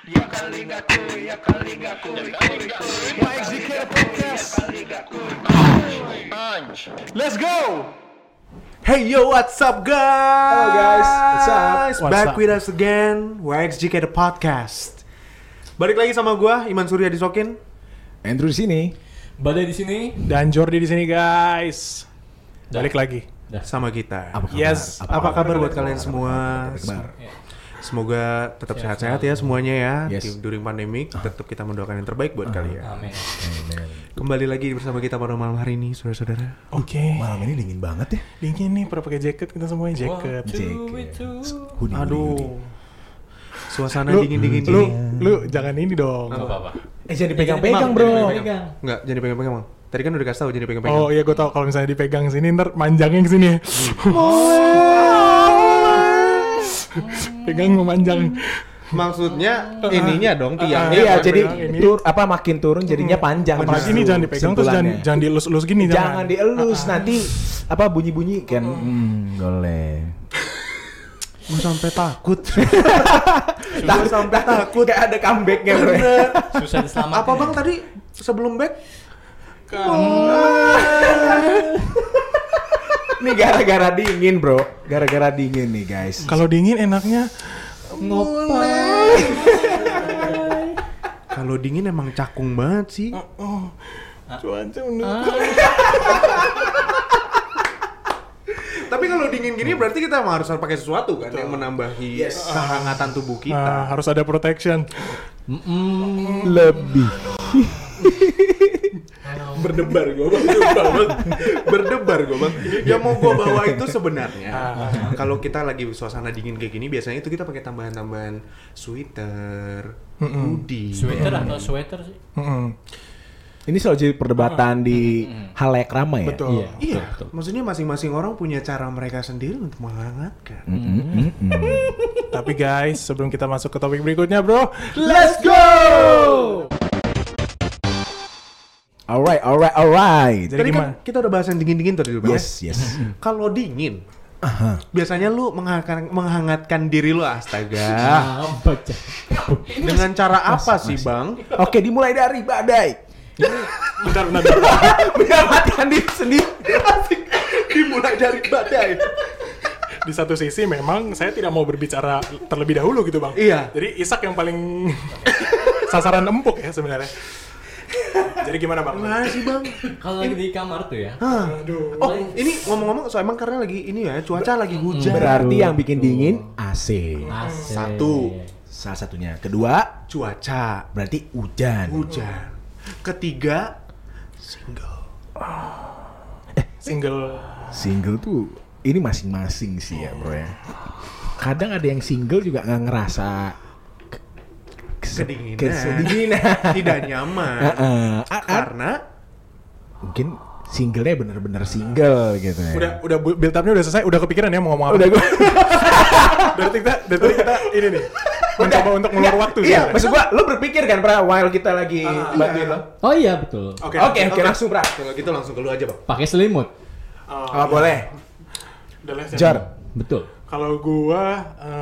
YXGK Podcast. Let's go. Hey yo, what's up guys? Hello guys, what's up? Back with us again, YXGK Podcast. Balik lagi sama gua, Iman Surya Disokin. Andrew di sini. Badai di sini. Dan Jordi di sini guys. Balik lagi. Sama kita. Apa kabar? Yes. Apa kabar buat kalian semua? Kabar. Semoga tetap sehat-sehat ya semuanya ya. Yes. During pandemic, tetap kita mendoakan yang terbaik buat kalian. Amin. Kembali lagi bersama kita pada malam hari ini, saudara-saudara. Oke. Malam ini dingin banget ya. Dingin nih, pada pakai jaket kita semuanya jaket. Hoodie. Aduh. Suasana Lu- dingin-dingin Lu, ini. lu jangan ini dong. Enggak apa-apa. Jangan dipegang-pegang bro. Enggak, jangan dipegang-pegang, Bang. Tadi kan udah dikasih tahu jangan dipegang-pegang. Oh iya, gue tau kalau misalnya dipegang sini ntar manjangnya ke sini. Pegang memanjang. Maksudnya ininya dong tiangnya. Iya, Jangan jadi pegang ini. makin turun jadinya panjang. Apalagi ini justru jangan dipegang terus sentulannya. jangan dielus-elus gini. Jangan dielus nanti bunyi-bunyi kan. Boleh. Gue sampai takut. Sampai takut gak ada comebacknya bro. Susah diselamatkan. Apa Bang tadi sebelum back? Ini gara-gara dingin bro. Gara-gara dingin nih guys. Kalau dingin enaknya Kalau dingin emang cakung banget sih. cuaca mendukung. Tapi kalau dingin gini berarti kita emang harus pakai sesuatu kan yang menambahi kehangatan tubuh kita. Harus ada protection. Lebih. Berdebar gue bang, berdebar gue bang. Yang mau gue bawa itu sebenarnya kalau kita lagi suasana dingin kayak gini biasanya itu kita pakai tambahan-tambahan sweater, hoodie. Sweater atau sweater sih? Ini selalu jadi perdebatan di halayak ramai ya. Betul. Iya, maksudnya masing-masing orang punya cara mereka sendiri untuk menghangatkan. Tapi guys, sebelum kita masuk ke topik berikutnya bro, Let's go! Alright. Jadi Tadi gimana? kan kita udah bahas yang dingin-dingin tadi bang. Yes. Kalau dingin, biasanya lu menghangatkan diri lu, astaga. Apa cah? Dengan cara apa sih bang? Oke, dimulai dari badai. Bentar. Menyelamatkan diri sendiri. Dimulai dari badai. Di satu sisi memang saya tidak mau berbicara terlebih dahulu gitu bang. Iya. Jadi Isak yang paling sasaran empuk ya sebenarnya. Jadi gimana bang? Gimana sih bang? Kalau lagi di kamar tuh ya. Aduh. Oh ini ngomong-ngomong so emang karena lagi ini ya cuaca lagi hujan. Berarti yang bikin dingin AC. Asik. Satu. Salah satunya. Kedua, Cuaca berarti hujan. hujan. Ketiga single. Single tuh ini masing-masing sih ya bro ya. Kadang ada yang single juga nggak ngerasa Kedinginan. Tidak nyaman. Karena Mungkin singlenya bener-bener single gitu ya. Udah build up-nya udah selesai, udah kepikiran ya mau ngomong apa? Udah gue. Dari tadi kita ini nih mencoba untuk ngeluar waktu sih. Iya, maksud gua, lo berpikir kan pra while kita lagi bantuin lo. Oh iya betul. Oke, Langsung pra. kalau gitu langsung ke lu aja bang. Pakai selimut. Oh, boleh. Udah les ya? Jar. Betul. Kalau gua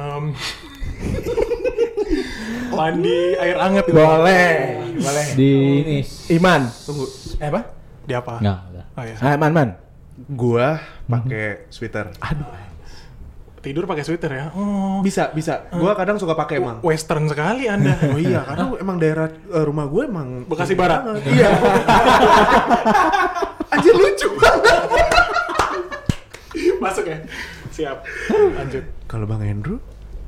mandi air hangat gitu. Boleh. Di ini. Iman. Tunggu. Apa? Di apa? Enggak, udah. Oh iya. Man. Gua pakai sweater. Tidur pakai sweater ya. Oh. Bisa. Gua kadang suka pakai emang. Western sekali Anda. Oh iya, karena emang daerah rumah gue emang Bekasi Barat. Iya. Anjir lucu banget. Masuk ya. Siap. Lanjut. Kalau Bang Andrew?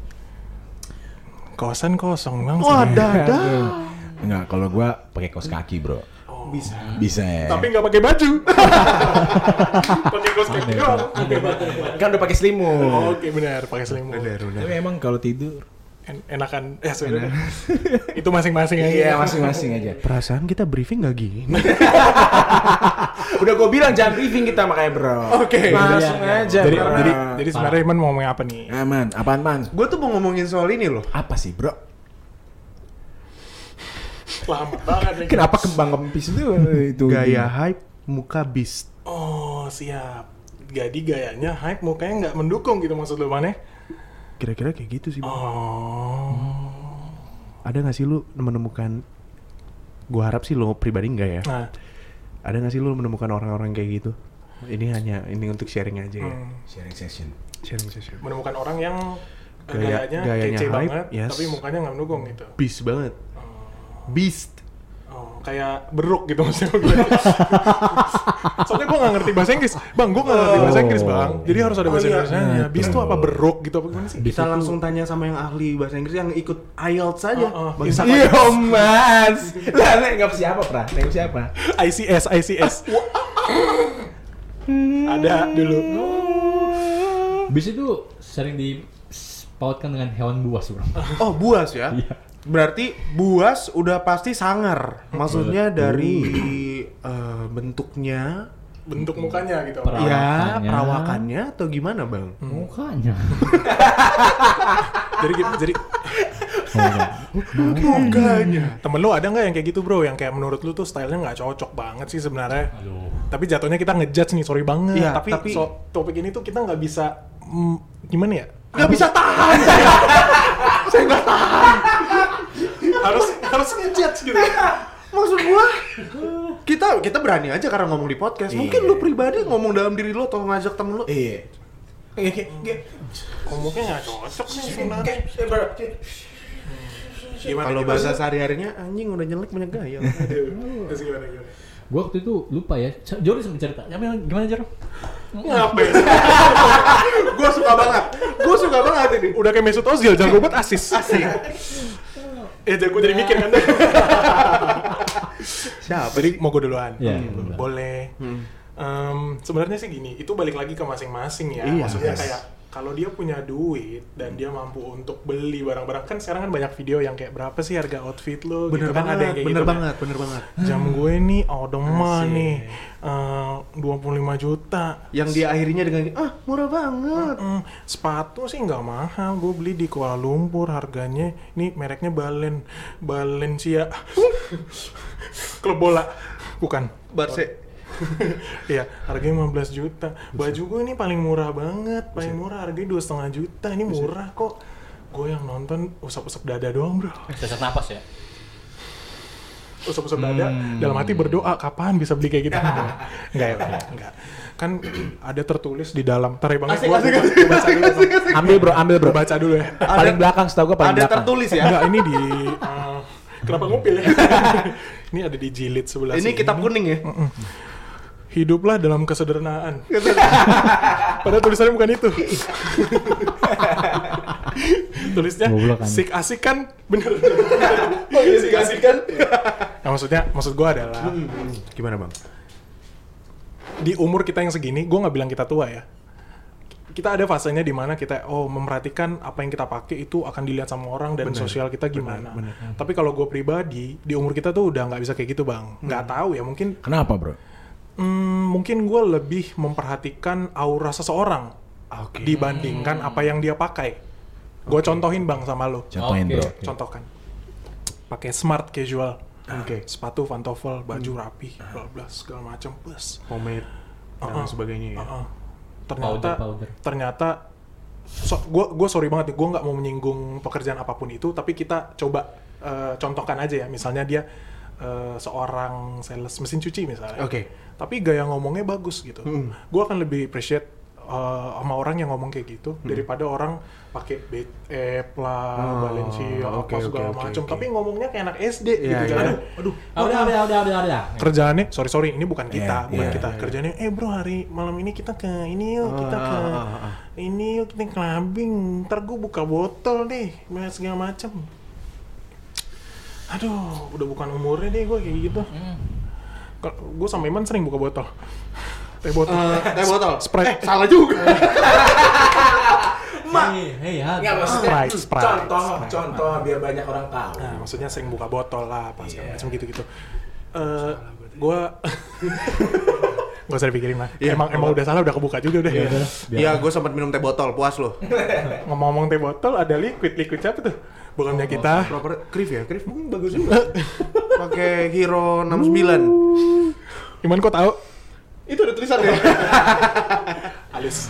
Kosan kosong bang. Wah, sebenarnya. dada. Enggak, kalau gua pakai kaos kaki, Bro. Bisa ya. Tapi nggak pakai baju. Pakai kaos kaki doang. Kan udah pakai selimut. Oke benar, pakai selimut. Tapi emang kalau tidur Enakan sebenarnya. Itu masing-masing aja. iya masing-masing aja. Perasaan kita briefing gak gini. Udah gue bilang jangan briefing kita makanya bro. Oke. Langsung aja. Jadi sebenarnya Iman mau ngomong apa nih? Aman, apaan man? Gue tuh mau ngomongin soal ini loh. Apa sih bro? Lama banget nih. Kenapa kembang kempis itu? Gaya hype, muka beast. Oh siap. Jadi gayanya hype, mukanya nggak mendukung gitu maksud lu mana? Kira-kira kayak gitu sih bang. Oh. ada nggak sih lu menemukan, gua harap sih lo pribadi enggak ya, Nah, ada nggak sih lu menemukan orang-orang kayak gitu? Ini untuk sharing aja ya. Sharing session. Sharing session. menemukan orang yang Gayanya kece hype, banget, yes. tapi mukanya nggak mendukung gitu. Beast banget. Beast. Oh, kayak beruk gitu maksudnya gue. Soalnya gue nggak ngerti bahasa Inggris, bang. Gue nggak ngerti bahasa Inggris, bang. Jadi harus ada bahasa Indonesianya. Beast tuh apa beruk gitu apa gimana sih? Kita langsung tanya sama yang ahli bahasa Inggris yang ikut IELTS saja. Bang Isa. Iya mas. Lah nggak siapa pra? Nggak siapa? ICS. Ada dulu. Bis itu sering dipautkan dengan hewan buas, bro. Oh, buas ya? Iya. Berarti buas udah pasti sangar. Maksudnya dari bentuknya, Bentuk mukanya gitu. Perawakannya. ya perawakannya atau gimana, Bang? Mukanya. Jadi Mukanya. temen lu ada nggak yang kayak gitu bro? Yang kayak menurut lu tuh stylenya nggak cocok banget sih sebenarnya. Aduh. Tapi jatuhnya kita ngejudge nih, sorry banget. Iya, tapi topik ini tuh kita nggak bisa gimana ya? Nggak bisa tahan. Saya nggak tahan. harus ngejudge gitu. Maksud gua, kita berani aja karena ngomong di podcast. Mungkin lu pribadi ngomong dalam diri lu atau ngajak temen lu. Iya. Ngomongnya nggak cocok nih sebenarnya. Gimana? Kalau bahasa sehari-harinya anjing udah jelek banyak gaya. Terus gimana? Gua waktu itu lupa ya. Jor sempat cerita. Ya, gimana Jor? Ngapain? Gua suka banget ini. Udah kayak Mesut Ozil, jago buat asis. Gue jadi mikir kan. Siapa? Jadi mau gue duluan. Iya, Boleh. Sebenarnya sih gini, itu balik lagi ke masing-masing ya. Iya, Maksudnya yes. kayak kalau dia punya duit dan dia mampu untuk beli barang-barang, kan sekarang kan banyak video yang kayak berapa sih harga outfit lo Bener gitu kan, ada yang kayak bener gitu banget, bener banget. jam gue nih Audemars Asik. nih 25 juta. Yang dia akhirnya dengan murah banget. Sepatu sih nggak mahal, gue beli di Kuala Lumpur, harganya nih mereknya Balenciaga. Klub bola bukan Barce. Iya, harganya 15 juta. Baju gue ini paling murah banget, paling murah harganya 2,5 juta. Ini murah kok. Gue yang nonton usap-usap dada doang, bro. Sesak napas ya. Usap-usap dada, dalam hati berdoa kapan bisa beli kayak gitu. Enggak ya, enggak. Kan ada tertulis di dalam. Tar ya Bang, Asik. gua baca dulu. Bang. Ambil bro. Baca dulu ya. Paling belakang setahu gue paling Ada belakang. tertulis ya. Enggak, ini di kenapa ngupil ya? Ini ada di jilid sebelah Ini sini. kitab kuning ya. Hiduplah dalam kesederhanaan. Padahal tulisannya bukan itu. Tulisnya asik kan bener. Asik kan? Nah, maksud gue adalah Gimana, Bang? di umur kita yang segini, gue nggak bilang kita tua ya. Kita ada fasenya di mana kita memperhatikan apa yang kita pakai itu akan dilihat sama orang dan sosial kita gimana. Tapi kalau gue pribadi di umur kita tuh udah nggak bisa kayak gitu bang. Nggak tahu ya, mungkin Kenapa bro? mungkin gue lebih memperhatikan aura seseorang dibandingkan apa yang dia pakai. Gue contohin bang sama lo. Contohin bro. Contohkan. Pakai smart casual. Sepatu pantofel, baju rapi, bla bla segala macam plus. Pomade dan sebagainya ya. Ternyata gue sorry banget nih, gue nggak mau menyinggung pekerjaan apapun itu, tapi kita coba contohkan aja ya. Misalnya dia seorang sales mesin cuci misalnya. Tapi gaya ngomongnya bagus gitu. Gue akan lebih appreciate sama orang yang ngomong kayak gitu daripada orang pakai Balenciaga apa segala macam. Tapi ngomongnya kayak anak SD gitu kan. Udah. Kerjaannya sorry ini bukan kita, Kerjaannya bro hari malam ini kita ke ini yuk, kita ke ini yuk, kita clubbing. Ntar gue buka botol deh, segala macam. Aduh, udah bukan umurnya deh gue kayak gitu. Gue sama Iman sering buka botol. Teh botol. Sprite. Salah juga. Sprite. Contoh biar banyak orang tahu. Nah, maksudnya sering buka botol lah, pas macam gitu-gitu. Gue gak usah dipikirin lah. Emang udah salah, udah kebuka juga udah. Iya, gue sempat minum teh botol, puas lo. Ngomong-ngomong teh botol, ada liquid siapa tuh? Bukannya kita. Proper Krif ya, Krif bagus juga. Pakai Hero 69. Iman kok tahu? Itu ada tulisannya. Halus.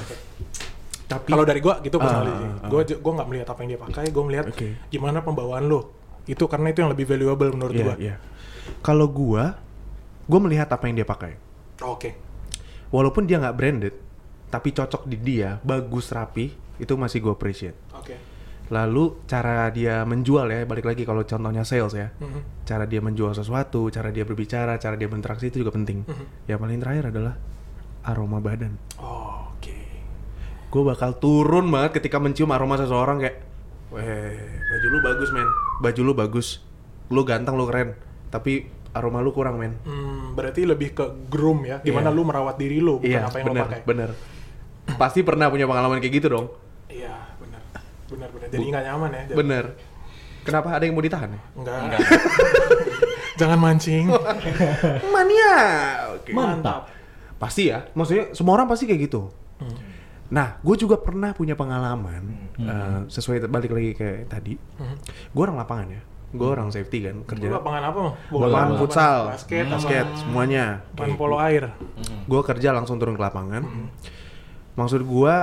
Tapi kalau dari gue gitu personally, gue nggak melihat apa yang dia pakai, gue melihat gimana pembawaan lo. Itu karena itu yang lebih valuable menurut gua. Iya. Kalau gua melihat apa yang dia pakai. Oke. Walaupun dia nggak branded, tapi cocok di dia, bagus, rapi, itu masih gua appreciate. Oke. Lalu cara dia menjual ya, balik lagi kalau contohnya sales ya. Cara dia menjual sesuatu, cara dia berbicara, cara dia berinteraksi itu juga penting. Yang paling terakhir adalah aroma badan. Oke. Gue bakal turun banget ketika mencium aroma seseorang kayak, weh, baju lu bagus men, baju lu bagus, lu ganteng, lu keren, tapi aroma lu kurang men. Berarti lebih ke groom ya, gimana lu merawat diri lu, bukan apa yang lu pakai. Bener. Pasti pernah punya pengalaman kayak gitu dong. Iya, benar. Jadi nggak nyaman ya. Bener. Kenapa ada yang mau ditahan ya? Enggak. Jangan mancing. Mania. Oke. Mantap. Pasti ya, maksudnya semua orang pasti kayak gitu. Nah, gue juga pernah punya pengalaman, sesuai balik lagi kayak tadi. Gue orang lapangan ya, gue orang safety kan, kerja. Lu lapangan apa? Lapangan futsal, basket, semuanya. lapangan polo air. Gue kerja langsung turun ke lapangan. Maksud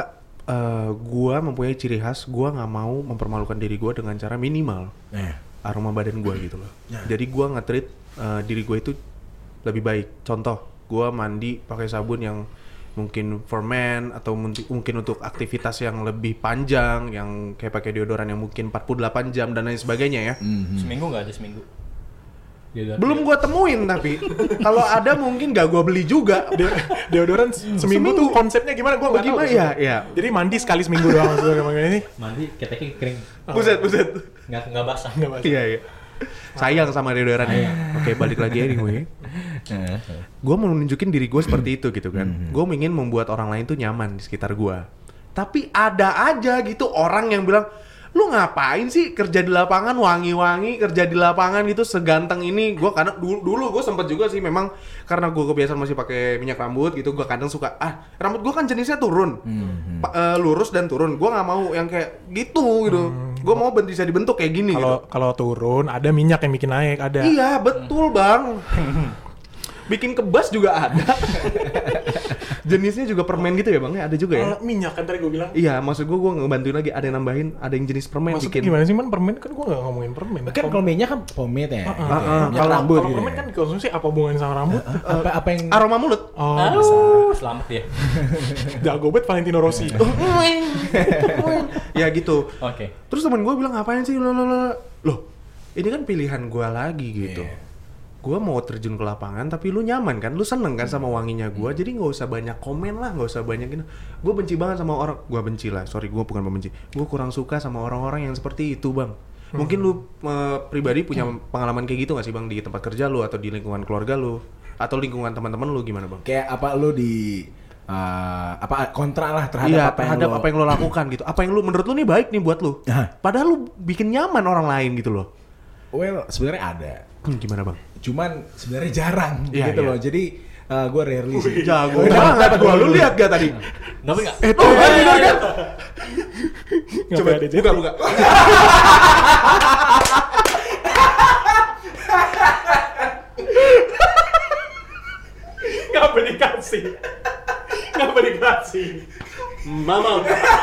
gue mempunyai ciri khas, gue nggak mau mempermalukan diri gue dengan cara minimal aroma badan gue gitu loh. Jadi gue nge-treat diri gue itu lebih baik. Contoh, gue mandi pakai sabun yang mungkin for men atau mungkin untuk aktivitas yang lebih panjang, yang kayak pakai deodoran yang mungkin 48 jam dan lain sebagainya ya. Seminggu nggak ada seminggu? Belum gue temuin tapi kalau ada mungkin gak gue beli juga. Deodoran seminggu tuh konsepnya gimana? Gue nggak tahu. Ya. Jadi mandi sekali seminggu doang maksudnya ini. Mandi keteknya kering. Buset. Nggak basah. Iya. Sayang sama deodorannya. Oke, balik lagi anyway. Gue mau nunjukin diri gue seperti itu gitu kan. Gue ingin membuat orang lain tuh nyaman di sekitar gue. Tapi ada aja gitu orang yang bilang, lu ngapain sih kerja di lapangan wangi-wangi, kerja di lapangan gitu seganteng ini. Gue kadang dulu gue sempet juga sih memang karena gue kebiasaan masih pakai minyak rambut gitu. Gue kadang suka rambut gue kan jenisnya turun, lurus dan turun. Gue nggak mau yang kayak gitu. Gue mau bisa dibentuk kayak gini. Kalau turun ada minyak yang bikin naik ada. Iya betul bang. Bikin kebas juga ada. Jenisnya juga permen gitu ya bang? Ada juga ya? Minyak kan tadi gue bilang. Iya, maksud gue ngebantuin lagi. Ada yang nambahin, ada yang jenis permen. Maksudnya bikin. gimana sih man? Permen kan gue nggak ngomongin permen. Kan kalau minyak kan pomade ya. Kalau rambut kalau gitu. permen kan dikonsumsi apa hubungannya sama rambut? Apa yang aroma mulut. Selamat ya. Jago banget Valentino Rossi. Ya gitu. Oke. Terus temen gue bilang ngapain sih loh, ini kan pilihan gue lagi gitu. Gue mau terjun ke lapangan tapi lu nyaman kan, lu seneng kan sama wanginya gue, jadi nggak usah banyak komen lah, nggak usah banyak ini. Gue benci banget sama orang, gue bukan membenci, gue kurang suka sama orang-orang yang seperti itu bang. Mungkin lu pribadi punya pengalaman kayak gitu nggak sih bang di tempat kerja lu atau di lingkungan keluarga lu atau lingkungan teman-teman lu gimana bang? kayak apa lu di kontra lah terhadap apa yang lo lakukan gitu, apa yang lu menurut lu nih baik nih buat lu, padahal lu bikin nyaman orang lain gitu loh. Well, sebenarnya ada. Gimana bang? Cuman sebenarnya jarang gitu iya. loh. Jadi gue rarely sih. Jago banget gue. Lu lihat gak tadi? Nggak nggak. Bener kan? Coba buka. Ngapa dikasih? Mama.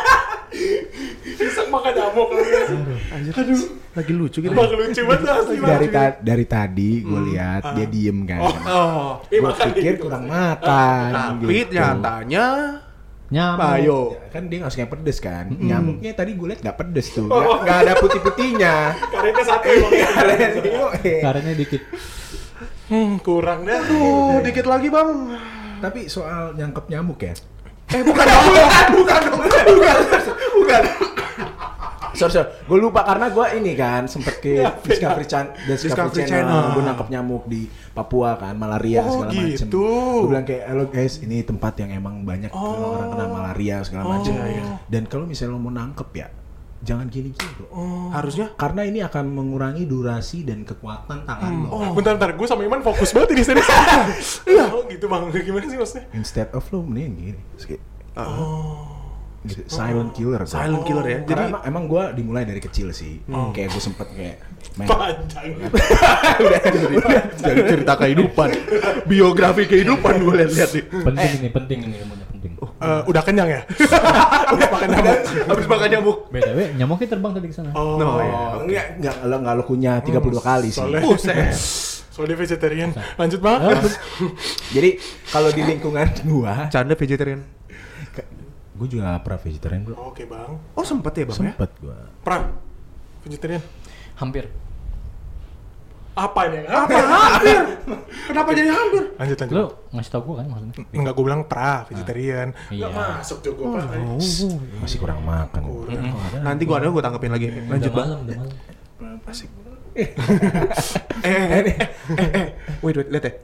Bisa makan nyamuk. Aduh, lagi lucu gitu. Lucu banget asli. Dari tadi gue lihat dia diem kan. Gue pikir kurang makan. Tapi nyatanya Nyamuk. Ayo. Kan dia nggak suka yang pedes kan. Nyamuknya tadi gue lihat nggak pedes tuh. Nggak ada putih-putihnya. Karetnya satu Karetnya dikit. kurang dah. Dikit lagi bang. Tapi soal nyangkep nyamuk ya. Bukan. Sorry, gue lupa karena gue ini kan sempet ke Discovery Channel. Gue nangkep nyamuk di Papua kan, malaria segala macem. Gitu. Gue bilang kayak, halo guys, ini tempat yang emang banyak orang kena malaria segala macem. Dan kalau misalnya lo mau nangkep ya, jangan gini-gini bro. Harusnya karena ini akan mengurangi durasi dan kekuatan tangan lo. Bentar, gue sama Iman fokus banget di sini. Iya. Gitu bang, gimana sih maksudnya? Instead of lo mending gini. Gitu. Silent killer. silent killer ya. Jadi emang gue dimulai dari kecil sih. Kayak gue sempet kayak main. Panjang. Jadi cerita kehidupan, biografi kehidupan gue lihat-lihat nih. Penting ini ilmunya penting. Udah kenyang ya? Udah makan nyamuk. Habis makan nyamuk. BTW, nyamuknya terbang tadi ke sana. Oh, iya. Enggak lo kunyah 32 kali sih. Soalnya vegetarian. Lanjut banget. Jadi kalau di lingkungan gua, Canda vegetarian. gua juga gak pernah vegetarian bro. Oke bang. Oh sempet ya bang ya? Sempet gua. Pran, vegetarian. Hampir. Apa ini? Hampir. Kenapa jadi hampir? Lanjut. Lu ngasih tau gue kan maksudnya? Enggak, gue bilang vegetarian. Iya. Enggak masuk juga Pak. Masih kurang makan. Nanti gua gue tangkepin lagi. Lanjut bang. Udah malam. Asik. Wait, lihat ya.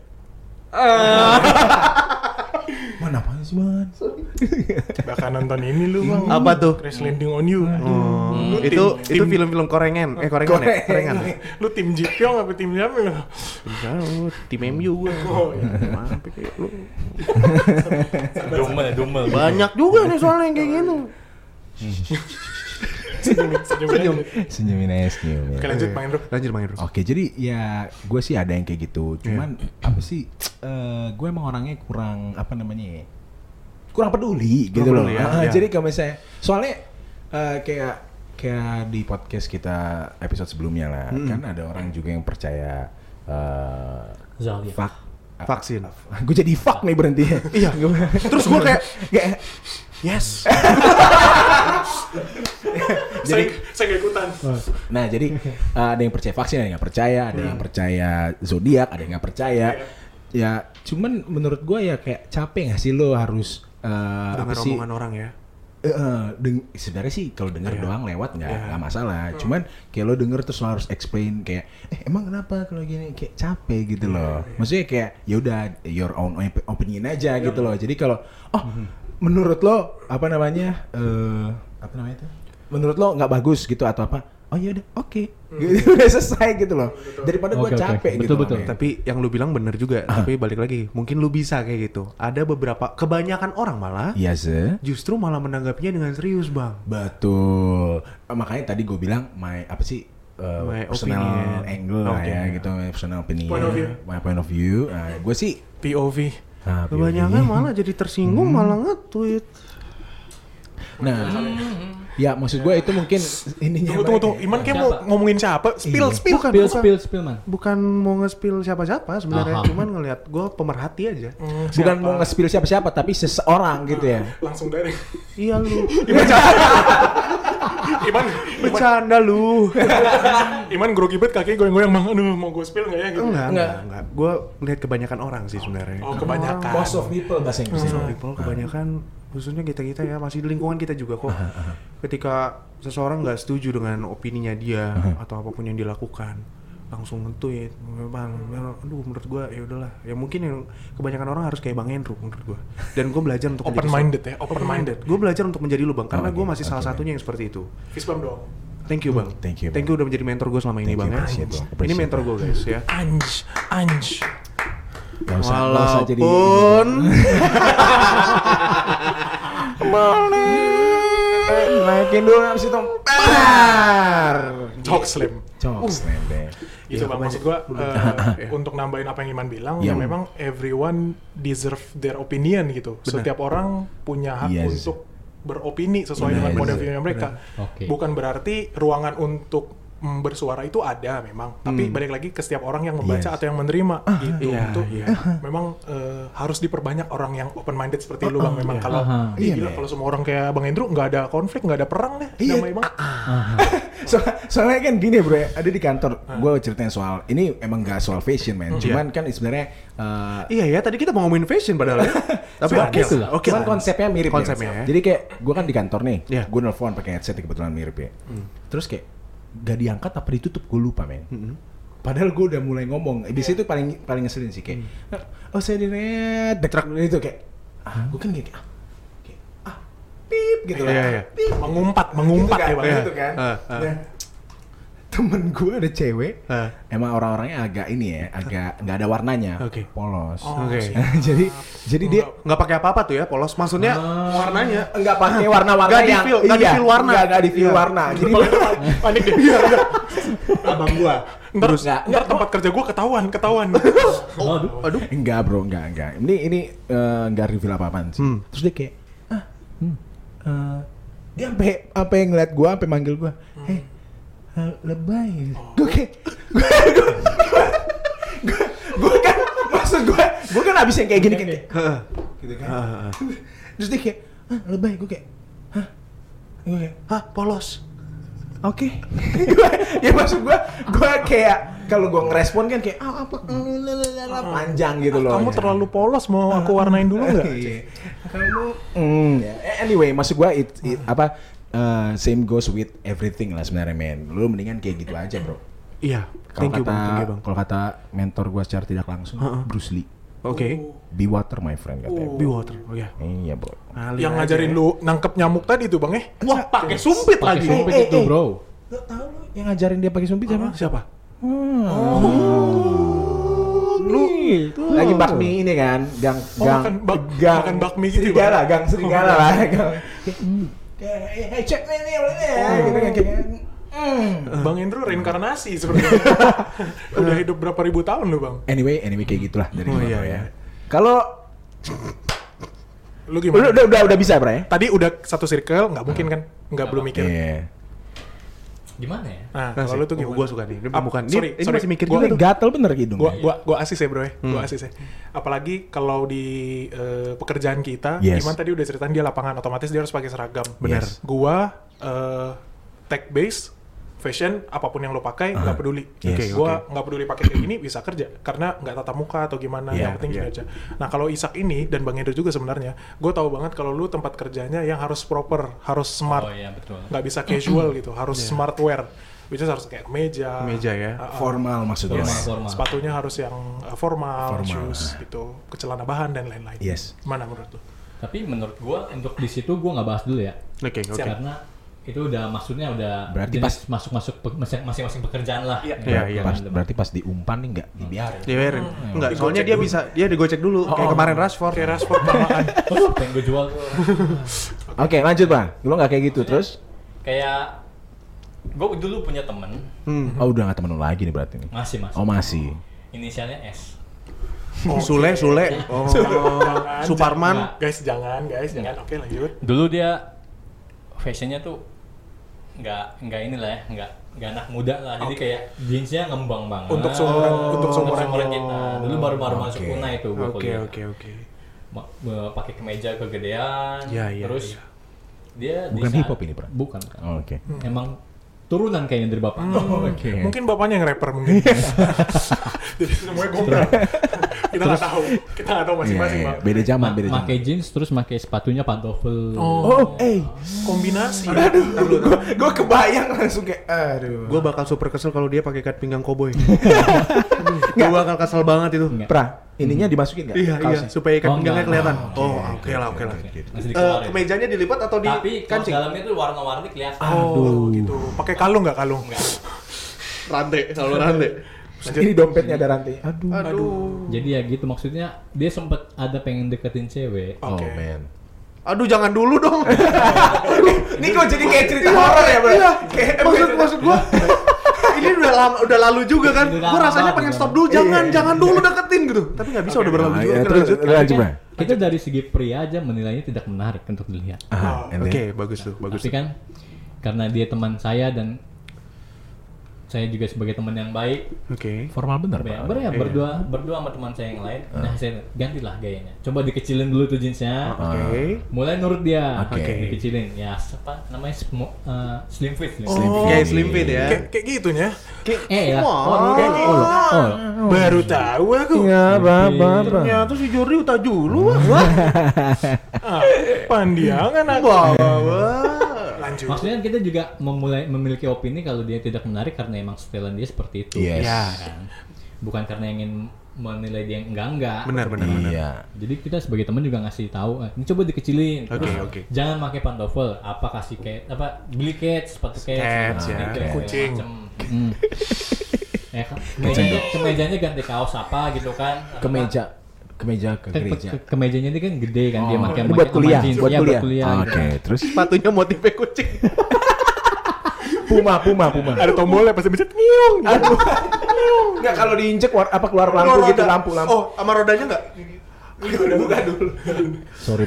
Mana apaan sih man? Bakal nonton ini lu bang. Apa tuh? Crash Landing on You. Itu film-film korengan. Korengan ya? Korengan. Lu tim Jipyong apa tim siapa lu? Tim MU gue. Oh iya. Mampir kayak lu. Dumel. Banyak juga nih soalnya yang kayak gitu. Senyumin aja senyum. Oke lanjut Bang Indro. Lanjut Bang Indro. Oke, jadi ya gue sih ada yang kayak gitu. Cuman apa sih? Gue emang orangnya kurang apa namanya ya? Kurang peduli gitu loh. peduli ya. Jadi kalau misalnya soalnya kayak di podcast kita episode sebelumnya lah, kan ada orang juga yang percaya Zalia. Vaksin. Gue jadi fuck nih berhenti. Iya. Terus gue kayak yes. Jadi saya nggak ikutan. nah jadi ada yang percaya vaksin, ada yang nggak percaya, ada yang percaya zodiak, ada yang nggak percaya. Ya cuman menurut gue ya kayak capek nggak sih lo harus apa Dengar sih? omongan orang ya. Sebenarnya sih kalau denger doang lewat nggak masalah. Cuman kayak lo denger terus lo harus explain kayak emang kenapa kalau gini, kayak capek gitu loh. Maksudnya kayak ya udah your own opinion aja gitu loh. Jadi kalau menurut lo apa namanya itu? Menurut lo nggak bagus gitu atau apa? Oh ya udah, oke. Gitu, udah selesai gitu loh. Daripada gue capek gitu. Betul. Tapi yang lu bilang bener juga. Tapi balik lagi, mungkin lu bisa kayak gitu. Ada beberapa, kebanyakan orang malah Iya sih. justru malah menanggapinya dengan serius bang. Betul. Makanya tadi gue bilang my personal opinion. angle lah ya gitu, my personal opinion, my point of view. Nah, gue sih POV. Kebanyakan malah jadi tersinggung malah nge-tweet. Nah, ya maksud gue itu mungkin ininya. Tunggu. Iman kayak mau ngomongin siapa? Spill. Spill man. Bukan mau nge-spill siapa-siapa sebenarnya, Aha. cuman ngelihat gue pemerhati aja. Bukan mau nge-spill siapa-siapa, tapi seseorang gitu ya. Langsung dari. Iya lu. Iman Bercanda lu. Iman grogi banget kakinya goyang-goyang bang. Aduh mau gue spill nggak ya gitu? Enggak. Gue melihat kebanyakan orang sih sebenarnya. Oh kebanyakan. Most of people bahasa Inggrisnya. People kebanyakan khususnya kita ya masih di lingkungan kita juga kok. Ketika seseorang nggak setuju dengan opininya dia atau apapun yang dilakukan, langsung nge-tweet. Aduh menurut gue ya udahlah. Ya mungkin yang kebanyakan orang harus kayak Bang Hendro menurut gue. Dan gue belajar untuk Open minded ya. Open minded. Gue belajar untuk menjadi lu bang, karena gue masih salah satunya yang seperti itu. Fist bump dong. Thank you bang. Thank you, Thank you udah menjadi mentor gue selama ini Thank bang you, ya. appreciate, bang. Ini Appreciate, mentor gue guys ya. Anj. Gak usah jadi. Walaupun naikin dulu abis itu. Talk slam. Jokes deh. Itu bang maksud gua untuk nambahin apa yang Iman bilang Iya. ya memang everyone deserve their opinion gitu. Setiap orang punya hak Yes. untuk beropini sesuai dengan point of view-nya mereka. Oke. Bukan berarti ruangan untuk bersuara itu ada memang, tapi balik lagi ke setiap orang yang membaca Yes. atau yang menerima gitu. iya, Itu iya. memang harus diperbanyak orang yang open minded seperti lu bang. Memang kalau Iya, gila men. kalau semua orang kayak Bang Hendro nggak ada konflik, nggak ada perang deh, Iya. damai banget. Soalnya kan gini bro ya, ada di kantor, gue ceritain soal, ini emang gak soal fashion man, cuman kan sebenarnya iya ya tadi kita mau ngomongin fashion padahal ya. Tapi oke lah. Oke cuman lah. konsepnya mirip Konsepnya ya. Jadi kayak gue kan di kantor nih, Iya. gue nelfon pakai headset kebetulan mirip ya. Terus kayak gak diangkat apa ditutup, gue lupa men. Padahal gue udah mulai ngomong. Biasanya itu paling ngeselin sih kayak, oh saya di red, dek itu kayak, gue kan kayak, pip gitu lah. Iya. Pip. Mengumpat Gitu ya bang. gitu kan. Nah, temen gue ada cewek, emang orang-orangnya agak ini ya, agak nggak ada warnanya, Oke. polos. Oke. jadi dia Nggak pakai apa-apa tuh ya, polos. Maksudnya warnanya nggak pakai warna-warna Nggak yang di-feel- nggak di-feel warna. nggak di-feel Iya. warna. Jadi Panik deh. abang gua. Ntar tempat kerja gue ketahuan. Aduh. enggak bro, enggak. Ini nggak reveal apa-apaan sih. Terus dia kayak, Dia sampai ngeliat gue, sampai manggil gue, lebay. Gue kayak, gue kan, maksud gue kan abis yang kayak gini kan, gitu kan. Terus dia kayak, lebay. Gue kayak, Polos. Oke. Ya maksud gue kayak kalau gue ngerespon kan kayak apa panjang gitu loh. Kamu terlalu polos, mau aku warnain dulu nggak? Kamu anyway, maksud gue same goes with everything lah sebenarnya, men. Lu mendingan kayak gitu aja, bro. Iya. Kalau Bang. kalau kata mentor gue secara tidak langsung, Bruce Lee. Oke. Be water, my friend, katanya. Be water. Oh ya. Iya, bro. Yang ngajarin lu nangkep nyamuk tadi tuh, Bang, Wah, pakai sumpit Pakai lagi. sumpit itu, bro. Lo tau lu yang ngajarin dia pakai sumpit siapa? Siapa? Lu lagi bakmi ini kan, gang makan bakmi gitu, serigala, gang serigala lah. Kayak cek ini ya, gitu kan kayak. Bang Indro reinkarnasi sebenarnya. Udah hidup berapa ribu tahun lu, Bang? Anyway kayak gitulah dari Oh, gua iya, ya. iya. Kalau Lu gimana? udah bisa, Bro ya? Tadi udah satu circle, nggak mungkin kan? Nggak belum mikir. Iya. Gimana ya? Nah, kalau lu tuh gimana? Gue suka nih. Ini bukan. Sorry, Ini masih mikir Gua juga tuh. gatel bener hidung. Gua asis ya, Bro ya. Gua asis ya. Apalagi kalau di pekerjaan kita, Yes. Iman tadi udah ceritain dia lapangan, otomatis dia harus pakai seragam. Benar. Yes. Gua tech base, fashion, apapun yang lo pakai nggak peduli. Yes. Gua nggak peduli pakai kayak gini bisa kerja karena nggak tatap muka atau gimana. Yeah, Yang penting gini aja. Nah, kalau Isak ini dan Bang Hendro juga sebenarnya, gue tahu banget kalau lu tempat kerjanya yang harus proper, harus smart, Oh iya, betul. nggak bisa casual gitu, harus smart wear. Which is harus kayak kemeja Ya. Formal maksudnya. Formal. sepatunya harus yang formal, Formal. shoes gitu, celana bahan dan lain-lain. Yes. Mana menurut lu? Tapi menurut gua untuk di situ gua nggak bahas dulu ya. Oke. Karena itu udah maksudnya udah Berarti jenis masuk masing-masing pekerjaan lah. Iya. Berarti pas diumpan nih nggak dibiarin. Diwerin. Enggak, soalnya dia bisa digocek dulu kayak kemarin Rashford. Kayak Rashford lamaan. Pengen gue jual tuh. Oke, lanjut, Bang. Lu nggak kayak gitu terus? Kayak gue dulu punya temen, Oh, udah nggak temen lu lagi nih berarti nih. masih. Oh, masih. Inisialnya S. Sule. Oh. Suparman. Guys, jangan. Oke, lanjut. Dulu dia fashionnya tuh nggak inilah ya, nggak anak muda lah. Jadi kayak jeansnya ngembang banget. Untuk seumuran kita. Dulu baru masuk Una itu gue kuliah. Oke. Pakai kemeja kegedean. Iya. Terus dia Bukan di hip saat- hop ini, Bro. Bukan. Oh, oke. Emang turunan kayaknya dari bapak. Oke. Mungkin bapaknya yang rapper mungkin. Jadi semuanya gombal. Kita nggak tahu masing-masing, Iya, Bang. beda zaman, beda zaman. Pakai jeans terus pakai sepatunya pantofel. Kombinasi. Gue kebayang langsung kayak, aduh. Gue bakal super kesel kalau dia pakai ikat pinggang koboi. Gue bakal kesel banget itu. Enggak. Pra, ininya dimasukin nggak? Iya, Kaosnya? supaya ikat Oh, pinggangnya enggak. kelihatan. Oh, Oh, oke lah. Masih dikeluarin. Kemejanya dilipat atau di Tapi kaos kancing? dalamnya tuh warna-warni kelihatan. Oh, gitu. Pakai kalung nggak kalung? Rantai, selalu rantai. Ini dompetnya ada rantai. Aduh. Jadi ya gitu maksudnya dia sempet ada pengen deketin cewek. Oh, Oke. man. Aduh, jangan dulu dong. Ini kok jadi kayak cerita horor ya, Bro? Iya. Maksud gua. Ini udah lalu juga kan. Udah Gua lama rasanya banget, pengen kan. stop dulu. Jangan dulu deketin gitu. Tapi nggak bisa, udah berlalu juga. Oke, Terus lanjut. lanjut, Tapi Bang. kan kita dari segi pria aja menilainya tidak menarik untuk dilihat. Oke, bagus tuh. Tapi kan karena dia teman saya dan saya juga sebagai teman yang baik, Oke. Formal bener, ya, Pak. berdua sama teman saya yang lain. Nah, saya gantilah gayanya. Coba dikecilin dulu tuh jeansnya. Oke. Mulai nurut dia. Oke. Dikecilin. Ya, apa namanya slim fit. Kayak slim fit ya. Kayak gitunya. Ya. Baru tahu aku. Iya, Bapak. Ternyata si Jordi udah dulu. Pandiangan aku. Lanjut. Maksudnya kita juga memiliki opini kalau dia tidak menarik karena emang setelan dia seperti itu. Yes. Ya. Kan? Bukan karena ingin menilai dia enggak. Benar. Iya. Jadi kita sebagai teman juga ngasih tahu, ini coba dikecilin. Oke. Jangan pakai pantofel, apa kasih kayak apa beli kets, sepatu kets, Kets, ya. sneakers, Kucing. segala macem. Ya kan? Kemejanya ganti kaos apa gitu kan? Kemeja ke gereja. Kemejanya ini kan gede kan dia pakai Ini buat kuliah, jeans. buat Iya, kuliah. gitu. Oke, terus Sepatunya motifnya kucing. Puma. Ada tombolnya pasti bisa nyung. Enggak, kalau diinjek keluar lampu gitu, lampu. Oh, sama rodanya enggak? Buka dulu. Sorry.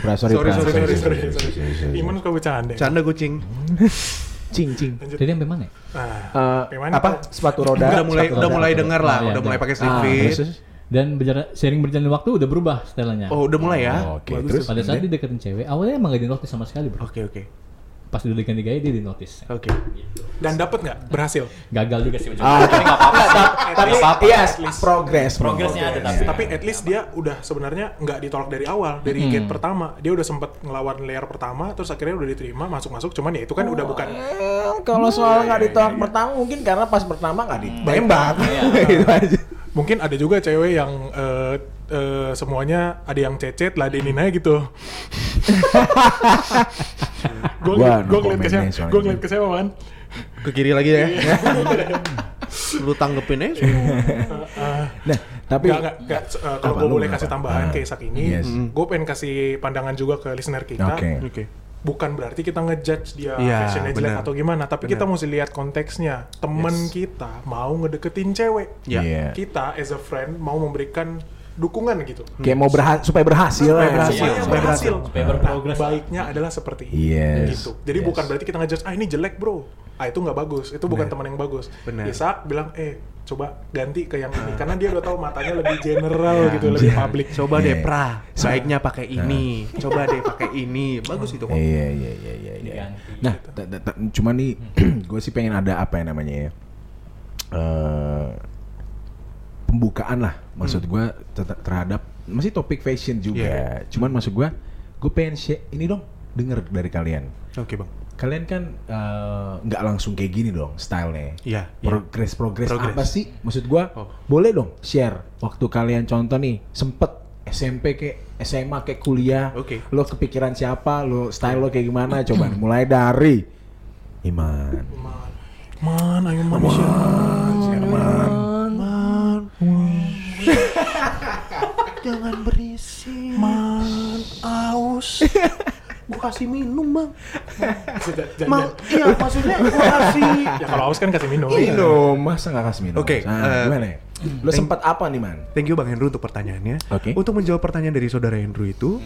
Iman suka bercanda. Canda kucing. Cing. Jadi sampai mana? Apa? Sepatu roda. Udah mulai dengar lah, Oh, udah iya, mulai iya. pakai slip fit. Terus? Dan sering berjalan waktu udah berubah stylenya. Oh, udah mulai ya. Oke, Bagus terus? tuh. Pada saat dideketin cewek, awalnya emang gak di-notice sama sekali bro. Oke. Pas udah diganti gaya dia di-notice. Oke. Dan dapet nggak? Berhasil. Gagal juga sih. Tapi nggak apa-apa. tapi Nggak apa-apa. iya, progress. Progresnya ada tapi. Tapi at least dia udah sebenarnya nggak ditolak dari awal, dari gate pertama. Dia udah sempet ngelawan layer pertama, terus akhirnya udah diterima, masuk. Cuman ya itu kan udah bukan. Kalau soal nggak ditolak pertama mungkin karena pas pertama nggak ditembak. Gitu aja. Mungkin ada juga cewek yang semuanya ada yang cecet, ladenin aja gitu. Gue ngeliat ke siapa man? Ke kiri lagi ya. Lu tanggepin aja. Nah, tapi Nggak, kalau Apa, gue lu boleh kenapa? kasih tambahan ke Isak ini, Yes. gue pengen kasih pandangan juga ke listener kita. Oke. Bukan berarti kita ngejudge dia Iya, fashionnya jelek benar. atau gimana, tapi kita mesti lihat konteksnya. Temen kita mau ngedeketin cewek, Ya. Iya. kita as a friend mau memberikan dukungan gitu. Kayak mau supaya berhasil. Supaya ya. berhasil. Supaya Supaya berhasil. Supaya berprogres. Baiknya adalah seperti ini. Yes. Gitu. Jadi Yes. bukan berarti kita ngejudge, ini jelek bro. Itu nggak bagus. Itu bukan teman yang bagus. Benar. Isak bilang, coba ganti ke yang ini. Karena dia udah tahu matanya lebih general gitu, lebih public. Coba deh Iya. pra, baiknya pakai ini. Coba deh pakai ini. Bagus itu kok. Iya. Diganti. Nah, cuman nih, gue sih pengen ada apa ya namanya ya, pembukaan lah, maksud gue terhadap masih topik fashion juga. Iya. Cuman maksud gue pengen share ini dong, denger dari kalian. Oke, Bang. Kalian kan nggak langsung kayak gini dong stylenya. Iya. Progres Progress. apa sih? Maksud gue, boleh dong share waktu kalian contoh nih sempet SMP kayak SMA kayak kuliah, Oke. lo kepikiran siapa, lo style lo kayak gimana, coba mulai dari Iman. Ayo man. Jangan berisik. Man, aus. Gua kasih minum, Bang. Jangan. Iya, maksudnya gua kasih. Ya kalau aus kan kasih minum. Minum, masa nggak kasih minum? Oke, Nah, gimana ya? Lo sempat apa nih man? Thank you Bang Hendro untuk pertanyaannya. Oke. Untuk menjawab pertanyaan dari saudara Hendro itu,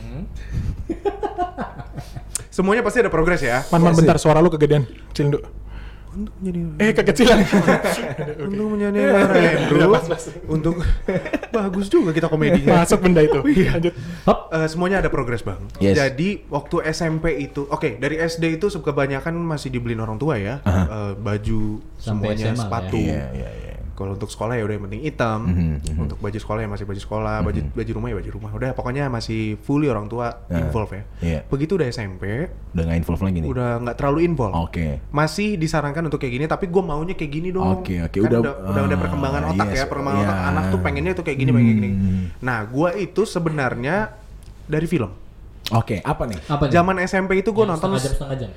semuanya pasti ada progres ya. Man, bentar, suara lu kegedean. Kecil dulu. Untuk menjadi Kekecilan. untuk menjadi Hendro, untuk bagus juga kita komedinya. Masuk benda itu. Lanjut. Semuanya ada progres Bang. Yes. Jadi waktu SMP itu, dari SD itu kebanyakan masih dibeliin orang tua ya, baju Sampai semuanya, SMA lah sepatu. Iya. Kalau untuk sekolah ya udah yang penting hitam. Untuk baju sekolah ya masih baju sekolah, baju rumah ya baju rumah. Udah pokoknya masih fully orang tua involve ya. Iya. Begitu udah SMP, Udah nggak involve lagi nih? udah nggak terlalu involve. Oke. Masih disarankan untuk kayak gini, tapi gue maunya kayak gini dong. Oke, Kan udah ada perkembangan otak yes, ya, perkembangan otak iya. anak tuh pengennya tuh kayak gini, pengen gini. Nah, gue itu sebenarnya dari film. Oke, apa nih? Apa nih? Zaman SMP itu gue Yang nonton setengah jam.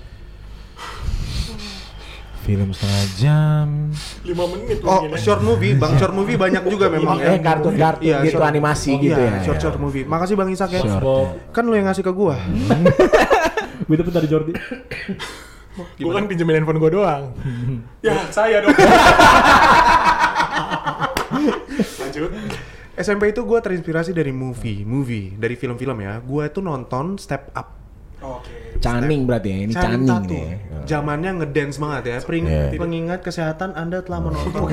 Film setengah jam. 5 menit Oh, mungkin ya. short movie, Bang. Short movie banyak juga memang ya. Kartun Iya, gitu, short- animasi Oh, gitu iya, ya. short movie. Makasih Bang Isak ya. Short. Bob. Kan lu yang ngasih ke gua. Gue dapet dari Jordi. Gue kan pinjemin handphone gue doang. Ya, saya dong. Lanjut. SMP itu gua terinspirasi dari movie, dari film-film ya. Gua itu nonton Step Up. Oke. Caning berarti ya, ini Channing Caning Tatum. nih. Zamannya ngedance banget ya. Iya. Pengingat kesehatan Anda telah menonton.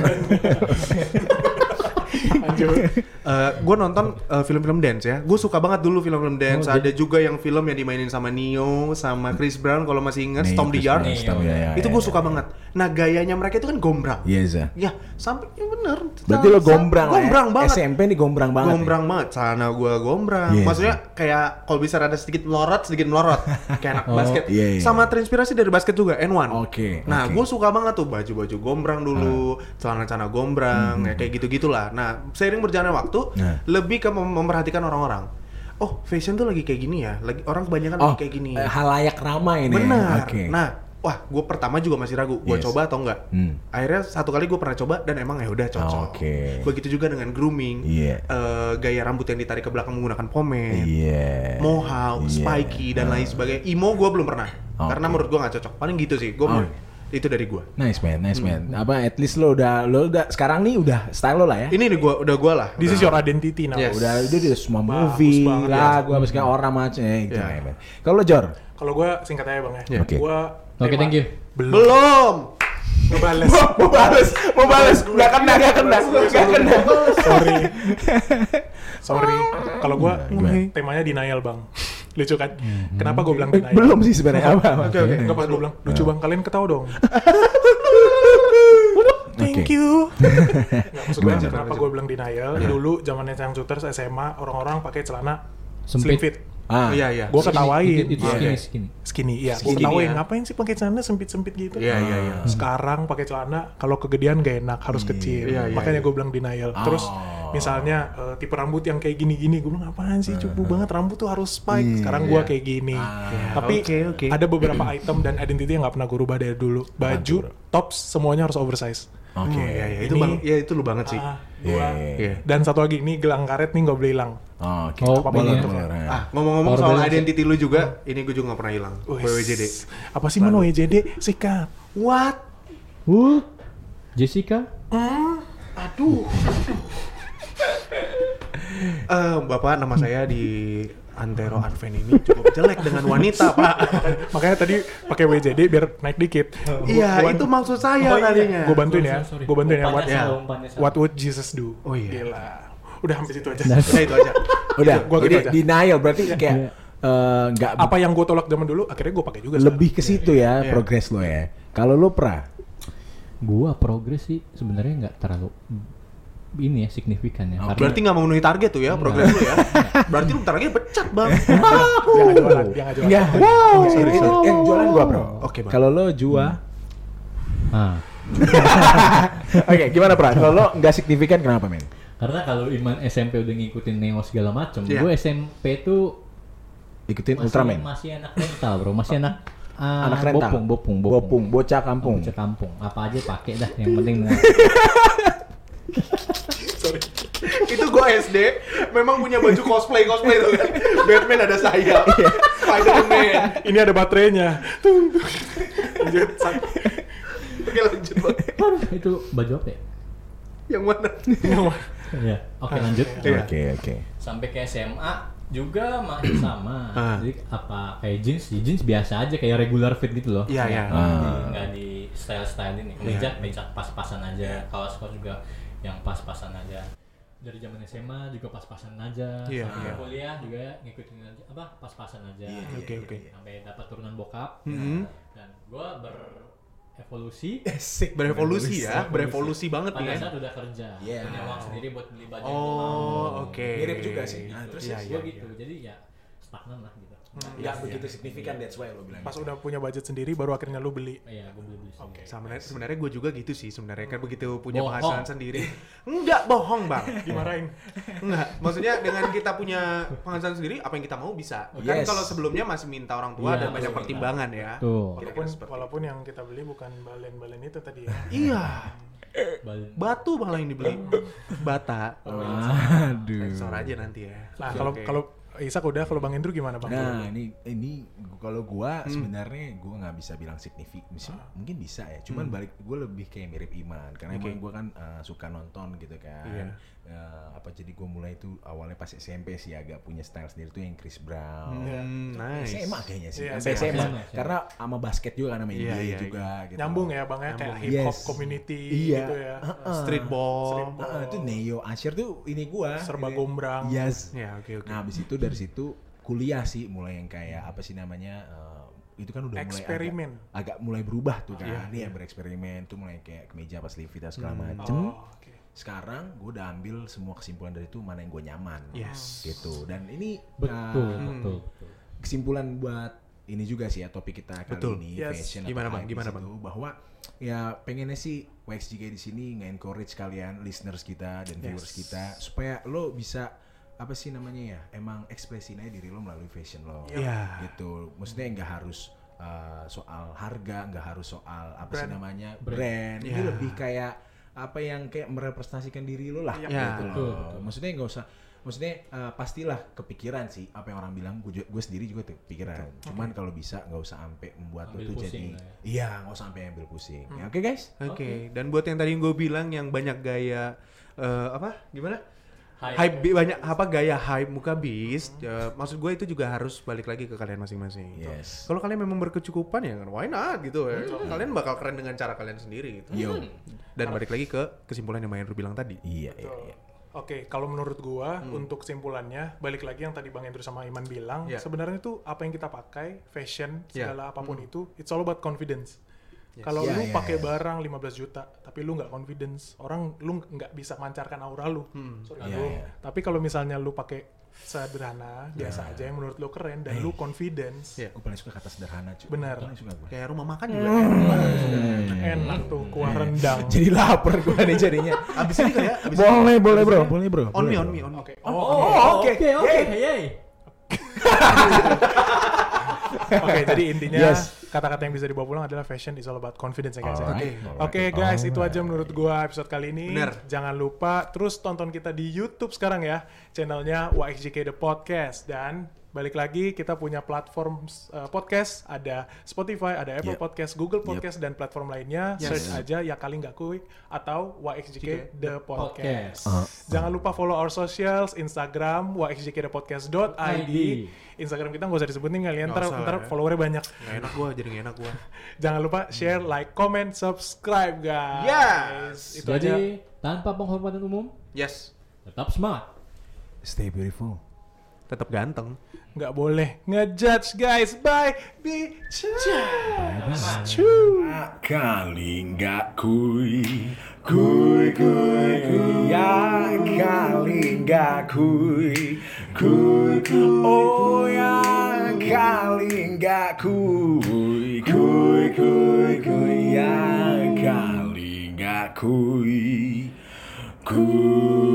Lanjut. Gue nonton film-film dance ya. Gue suka banget dulu film-film dance. Oh, Ada juga yang film yang dimainin sama Neo, sama Chris Brown kalau masih ingat, Nih, Storm the Chris Yard. Brown, Storm, ya, Itu ya, gue ya. suka banget. Nah gayanya mereka itu kan gombrang. Iya, Za. Ya sampai ya bener. Berarti lo gombrang lah ya? Gombrang banget. SMP nih gombrang banget. Gombrang banget. Celana gue gombrang. Yes. Maksudnya kayak kalau bisa ada sedikit melorot. Kayak anak basket. iya, iya. Sama terinspirasi dari basket juga, N1. Oke, Nah oke. gue suka banget tuh baju-baju gombrang dulu, celana-celana gombrang, ya kayak gitu-gitulah. Nah seiring berjalannya waktu, Nah. lebih ke memperhatikan orang-orang. Oh fashion tuh lagi kayak gini ya. Orang kebanyakan lagi kayak gini. Halayak ramai nih. Benar. Oke. Nah, wah, gue pertama juga masih ragu, gue Yes. coba atau enggak. Akhirnya satu kali gue pernah coba dan emang ya udah cocok. Oke. Begitu juga dengan grooming, Iya. gaya rambut yang ditarik ke belakang menggunakan pomade, Iya. mohawk, Iya. spiky dan lain sebagainya. Imo gue belum pernah, Oke. karena menurut gue nggak cocok. Paling gitu sih, gue Oh. Itu dari gua. Nice man. Apa at least lo udah sekarang nih udah style lo lah ya. Ini gua lah. This is your identity now. Yes. Udah semua movie, banget, lagu apa segala orang macam gitu ya. Kalau lo Jor? Kalau gue singkat aja bang ya. Yeah. Oke. Gue Oke, thank you. Belum. ngebales. mau balas, nggak kena. Sorry. Kalau gue Gimana? temanya denial bang. Lucu kan? Kenapa gue bilang denial? Belum sih sebenarnya apa. Oke. Nggak pas gue bilang lucu bang. Kalian ketawa dong. Thank you. Nggak maksud gue Gimana? kenapa gue bilang denial? Dulu zamannya Cang Shooters SMA orang-orang pakai celana slim Sempit. fit. Iya. Gue ketawain. Itu skinny. Skinny, iya. Gue Skinny, ketawain. ya. Ngapain sih pakai celana sempit-sempit gitu? Iya. Sekarang pakai celana kalau kegedean gak enak, harus kecil. Iya, Makanya iya. gue bilang denial. Terus misalnya tipe rambut yang kayak gini-gini, gue bilang apaan sih cupu banget rambut tuh harus spike. Sekarang gue kayak gini. Tapi Oke. ada beberapa item dan identity yang nggak pernah gue rubah dari dulu. Baju, tops semuanya harus oversize. Oke. Iya. Itu Ini- bang. Ya itu lu banget sih. Gua. Iya. Dan satu lagi, ini gelang karet nih nggak boleh hilang. Oke. Oh, boleh. boleh. Ngomong-ngomong Power soal balance. identity lu juga, ini gue juga nggak pernah hilang. WWJD. Apa sih man WWJD? Sikat. What? Jessica? Aduh. Bapak, nama saya di Antero Advent ini cukup jelek dengan wanita, Pak. Makanya tadi pakai WJD biar naik dikit. Iya, itu maksud saya tadinya. Gue bantuin ya. Sorry. Gue bantuin ya. Umpannya ya. salah, umpannya salah. What would Jesus do? Oh iya. Gila. Udah sampai situ aja. Udah itu aja. Udah. Gua gitu Jadi aja. denial berarti kayak nggak Apa yang gue tolak zaman dulu, akhirnya gue pakai juga. lebih ke situ ya Iya. progres lo ya. Kalau lo Gua progres sih sebenarnya nggak terlalu ini ya signifikan ya. Karena Berarti nggak memenuhi target tuh ya progres lu ya. Berarti lu bentar lagi pecat, Bang. Dia nggak jualan. Dia nggak jualan. Enggak. Wow. Yang jualan gua, Bro. Oke, Bang. Kalau lo Jua. Ah, Oke, gimana, Pra? Kalau lo nggak signifikan kenapa, men? karena kalau Iman SMP udah ngikutin Neo segala macam, Iya. gue SMP tuh Ikutin Ultraman. masih anak rental bro, masih anak Anak rental. bopung, bocah kampung. bocah kampung, apa aja pakai dah, yang penting mau. Itu gua SD memang punya baju cosplay tuh kan. Batman ada sayap. Spider-Man. Ini ada baterainya. Lanjut. Oke, lanjut, Bang. Aduh, itu baju apa ya? Yang mana? Ya, oke lanjut. Iya. Oke. Sampai ke SMA juga masih sama. Ah. Jadi apa kayak jeans biasa aja kayak regular fit gitu loh. Iya, iya. Nggak di style ini. Meja pas-pasan aja. Kaos juga yang pas-pasan aja. Dari zaman SMA juga pas-pasan aja. Iya, Sampai iya. kuliah juga ngikutin aja apa pas-pasan aja. Oke. Sampai dapat turunan bokap. Mhm. Dan gua berevolusi. Berevolusi ya, berevolusi banget nih Pada ya. saat udah kerja, Iya. punya uang sendiri buat beli baju yang gua mau. Oh, oke. Mirip juga sih. Nah, terus Iya, Gua iya. gitu, jadi ya stagnan lah gitu. Nggak begitu signifikan, that's why lo bilang. Pas udah punya budget sendiri, baru akhirnya lu beli. Iya, gue beli sendiri. Sebenarnya gue juga gitu sih sebenarnya kan begitu punya Bohong. penghasilan sendiri. Enggak bohong, Bang. Dimarahin. Enggak, maksudnya dengan kita punya penghasilan sendiri apa yang kita mau bisa. Kan Yes. kalau sebelumnya masih minta orang tua Iya, dan banyak betul. pertimbangan ya. Tuh, Kira-kira seperti Walaupun yang kita beli bukan balen-balen itu tadi ya. Iya, balik. batu malah yang dibeli. Bata. Aduh. Sensor aja nanti ya. Nah, Oke. kalau Isak udah, kalau Bang Indro gimana Bang? Nah, ini kalau gua sebenarnya gua nggak bisa bilang signifikan, mungkin bisa ya. Cuman balik gua lebih kayak mirip Iman karena emang gua kan suka nonton gitu kan. Iya. Jadi gua mulai tuh awalnya pas SMP sih agak punya style sendiri tuh yang Chris Brown. Nice. SMA kayaknya sih. Iya, Sampai SMA. SMA. Karena sama basket juga kan sama Iya, NBA iya, juga gitu. Nyambung ya Bang ya, kayak Nyambung. hip hop Yes. community Iya. gitu ya. Streetball. Itu Neo Asher tuh ini gua. Serba Ini. gombrang. Yes. Ya, oke. Nah, habis itu dari situ kuliah sih mulai yang kayak apa sih namanya itu kan udah Eksperimen. mulai agak mulai berubah tuh kan. Iya, Dia bereksperimen tuh mulai kayak kemeja pas sleeve dan segala macem. Oh, oke. Sekarang gue udah ambil semua kesimpulan dari itu mana yang gue nyaman. Yes. Gitu. Dan ini Betul. kesimpulan buat ini juga sih ya topik kita kali Betul. ini Yes. fashion Gimana, atau Bang? hype Gimana, di situ, bahwa ya pengennya sih WXJK di sini nge-encourage kalian listeners kita dan viewers kita supaya lo bisa apa sih namanya ya emang ekspresin aja diri lo melalui fashion lo. Iya. Gitu. Maksudnya nggak harus soal harga, nggak harus soal apa sih Brand. namanya brand. Ini Iya. lebih kayak apa yang kayak merepresentasikan diri lo lah Ya, gitu betul. loh. Maksudnya nggak usah, pastilah kepikiran sih apa yang orang bilang. Gue sendiri juga tuh kepikiran. Cuman kalau bisa nggak usah sampai membuat lo Ambil tuh pusing jadi lah ya. iya, nggak usah sampai ambil pusing. Ya, oke guys. Oke. Dan buat yang tadi gue bilang yang banyak gaya apa? Gimana? Hype. Banyak apa gaya hype muka bis. Maksud gue itu juga harus balik lagi ke kalian masing-masing. Yes. Kalau kalian memang berkecukupan ya kan, why not gitu ya. Kalian bakal keren dengan cara kalian sendiri gitu. Yo. Dan balik lagi ke kesimpulan yang Mahendro bilang tadi. Iya, iya, iya. Oke, kalau menurut gua untuk kesimpulannya, balik lagi yang tadi Bang Hendro sama Iman bilang, Yeah. sebenarnya itu apa yang kita pakai, fashion, Yeah. segala apapun itu, it's all about confidence. Kalau Yeah, lu yeah, pakai yeah. barang 15 juta, tapi lu nggak confidence, orang lu nggak bisa mancarkan aura lu. Sorry, Yeah, lu. yeah. Tapi kalau misalnya lu pakai sederhana, biasa aja yang menurut lu keren dan lu confidence, Yeah. Gue paling suka kata sederhana cuy. Benar. Paling suka gue. Kayak rumah makan juga. enak tuh kuah rendang. Jadi lapar gue nih jadinya. Abis ini kali ya? Abis Boleh bro. On me. Oke. Oke. Hey. Oke, jadi intinya Yes. kata-kata yang bisa dibawa pulang adalah fashion is all about confidence ya guys. ya. Alright, Oke guys, itu aja menurut gua episode kali ini. Bener. Jangan lupa terus tonton kita di YouTube sekarang ya, channelnya YXJK The Podcast. Dan balik lagi kita punya platform podcast, ada Spotify, ada Apple Yep. Podcast, Google Podcast dan platform lainnya. Yes. Search aja ya kali nggak kuy atau YXJK The Podcast. Podcast. Jangan lupa follow our socials, Instagram yxjkthepodcast.id. Instagram kita nggak usah disebutin kalian, Nggak usah ntar ya. followernya banyak. Nggak enak gua, jadi nggak enak gua. Jangan lupa share, like, comment, subscribe guys. Yes. Itu aja. Jadi tanpa penghormatan umum, Yes. tetap semangat. Stay beautiful. Tetap ganteng. Nggak boleh ngejudge guys. Bye. Be Kali nggak kuy, ya kali nggak kuy, oh ya kali nggak kuy, ya kali nggak kuy.